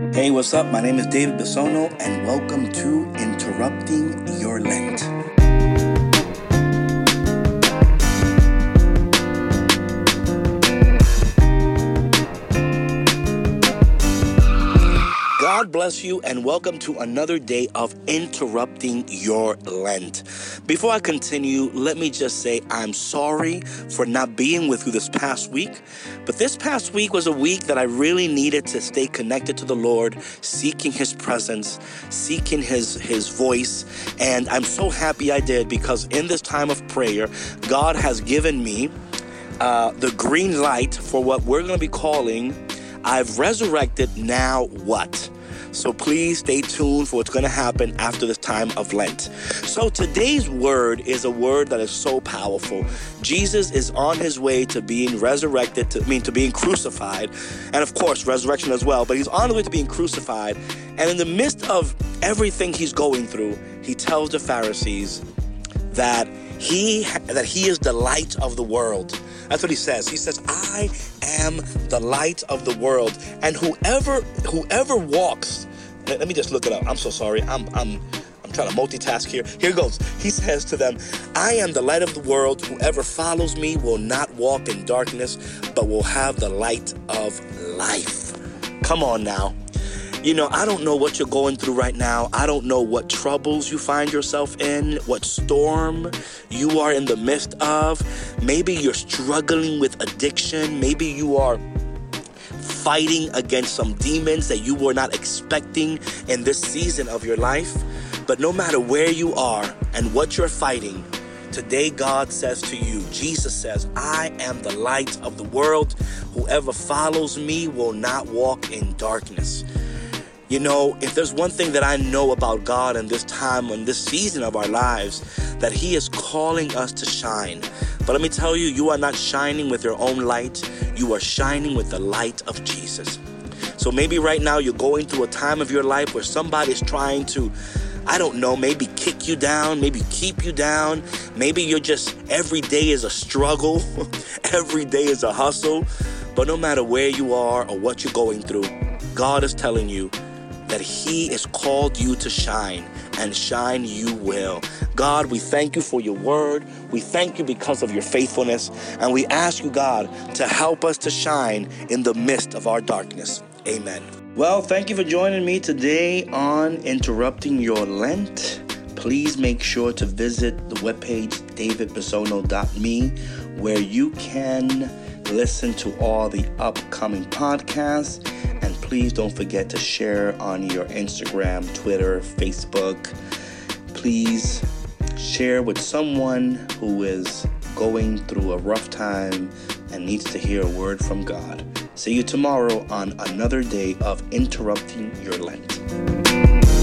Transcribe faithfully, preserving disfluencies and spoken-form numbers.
Hey, what's up? My name is David Bisono, and welcome to Interrupting Your Lent. God bless you and welcome to another day of Interrupting Your Lent. Before I continue, let me just say I'm sorry for not being with you this past week. But this past week was a week that I really needed to stay connected to the Lord, seeking His presence, seeking His, His voice. And I'm so happy I did, because in this time of prayer, God has given me uh, the green light for what we're going to be calling I've Resurrected, Now What? So please stay tuned for what's going to happen after this time of Lent. So today's word is a word that is so powerful. Jesus is on his way to being resurrected, to I mean to being crucified, and of course resurrection as well. But he's on the way to being crucified, and in the midst of everything he's going through, he tells the Pharisees that he that he is the light of the world. That's what he says. He says, I am the light of the world. And whoever whoever walks, let, let me just look it up. I'm so sorry. I'm I'm I'm trying to multitask here. Here goes. He says to them, I am the light of the world. Whoever follows me will not walk in darkness, but will have the light of life. Come on now. You know, I don't know what you're going through right now. I don't know what troubles you find yourself in, what storm you are in the midst of. Maybe you're struggling with addiction. Maybe you are fighting against some demons that you were not expecting in this season of your life. But no matter where you are and what you're fighting, today God says to you, Jesus says, I am the light of the world. Whoever follows me will not walk in darkness. You know, if there's one thing that I know about God in this time, in this season of our lives, that He is calling us to shine. But let me tell you, you are not shining with your own light. You are shining with the light of Jesus. So maybe right now you're going through a time of your life where somebody's trying to, I don't know, maybe kick you down, maybe keep you down. Maybe you're just, every day is a struggle. Every day is a hustle. But no matter where you are or what you're going through, God is telling you that He has called you to shine, and shine you will. God, we thank you for your word. We thank you because of your faithfulness. And we ask you, God, to help us to shine in the midst of our darkness. Amen. Well, thank you for joining me today on Interrupting Your Lent. Please make sure to visit the webpage david bisono dot me, where you can listen to all the upcoming podcasts. And please don't forget to share on your Instagram, Twitter, Facebook. Please share with someone who is going through a rough time and needs to hear a word from God. See you tomorrow on another day of Interrupting Your Lent.